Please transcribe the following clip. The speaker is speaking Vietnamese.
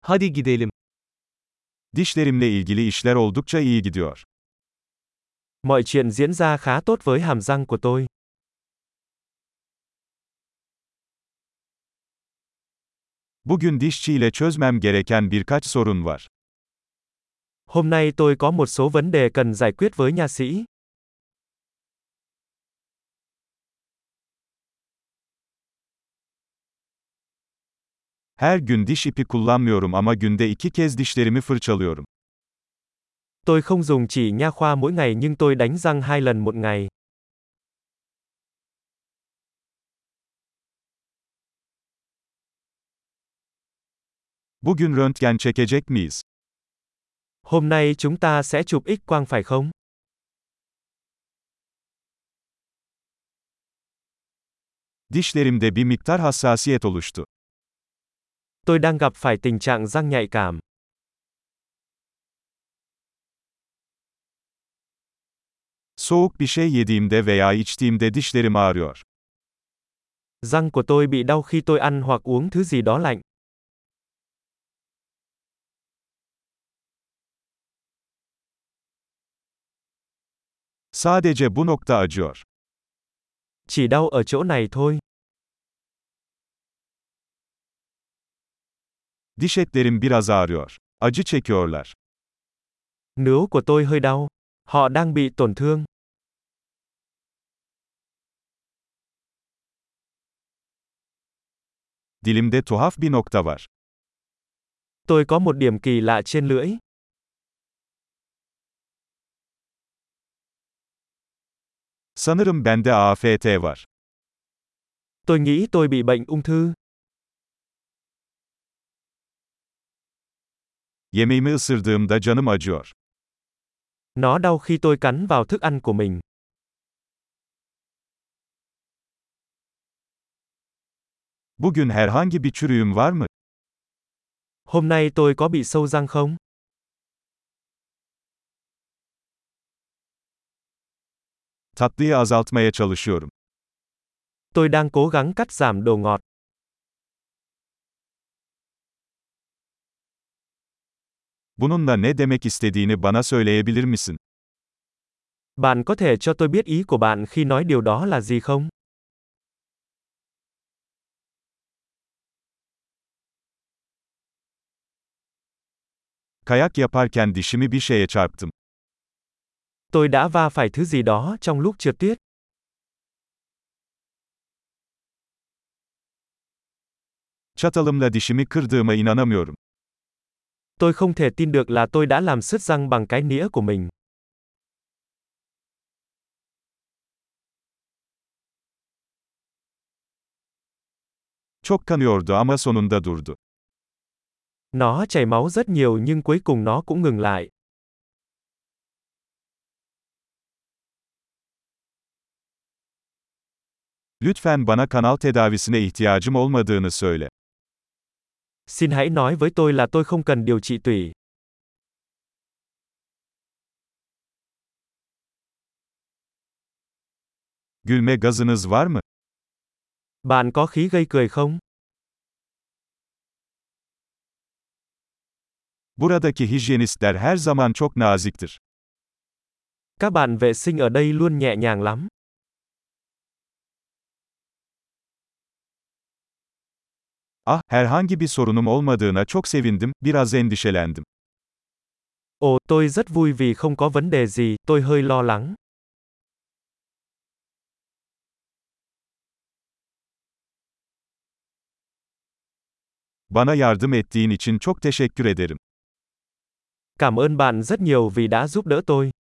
Hadi gidelim. Dişlerimle ilgili işler oldukça iyi gidiyor. Mọi chuyện diễn ra khá tốt với hàm răng của tôi. Bugün dişçiyle çözmem gereken birkaç sorun var. Hôm nay tôi có một số vấn đề cần giải quyết với nha sĩ. Her gün diş ipi kullanmıyorum ama günde 2 kez dişlerimi fırçalıyorum. Tôi không dùng chỉ nha khoa mỗi ngày nhưng tôi đánh răng 2 lần một ngày. Bugün röntgen çekecek miyiz? Hôm nay chúng ta sẽ chụp X-quang phải không? Dişlerimde bir miktar hassasiyet oluştu. Tôi đang gặp phải tình trạng răng nhạy cảm. Soğuk bir şey yediğimde veya içtiğimde dişlerim ağrıyor. Răng của tôi bị đau khi tôi ăn hoặc uống thứ gì đó lạnh. Sadece bu nokta acıyor. Chỉ đau ở chỗ này thôi. Diş etlerim biraz ağrıyor. Acı çekiyorlar. Nướu của tôi hơi đau. Họ đang bị tổn thương. Dilimde tuhaf bir nokta var. Tôi có một điểm kỳ lạ trên lưỡi. Sanırım bende AFT var. Tôi nghĩ tôi bị bệnh ung thư. Yemeğimi ısırdığımda canım acıyor. Nó đau khi tôi cắn vào thức ăn của mình. Bugün herhangi bir çürüğüm var mı? Hôm nay tôi có bị sâu răng không? Tatlıyı azaltmaya çalışıyorum. Tôi đang cố gắng cắt giảm đồ ngọt. Bununla ne demek istediğini bana söyleyebilir misin? Bạn có thể cho tôi biết ý của bạn khi nói điều đó là gì không? Kayak yaparken dişimi bir şeye çarptım. Tôi đã va phải thứ gì đó trong lúc trượt tuyết. Çatalımla dişimi kırdığıma inanamıyorum. Tôi không thể tin được là tôi đã làm sứt răng bằng cái nĩa của mình. Çok kanıyordu ama sonunda durdu. Nó chảy máu rất nhiều nhưng cuối cùng nó cũng ngừng lại. Lütfen bana kanal tedavisine ihtiyacım olmadığını söyle. Xin hãy nói với tôi là tôi không cần điều trị tủy. Gülme gazınız var mı? Bạn có khí gây cười không? Buradaki hijyenistler her zaman çok naziktir. Các bạn vệ sinh ở đây luôn nhẹ nhàng lắm. Ah, herhangi bir sorunum olmadığına çok sevindim, biraz endişelendim. Ồ, tôi rất vui vì không có vấn đề gì, tôi hơi lo lắng. Bana yardım ettiğin için çok teşekkür ederim. Cảm ơn bạn rất nhiều vì đã giúp đỡ tôi.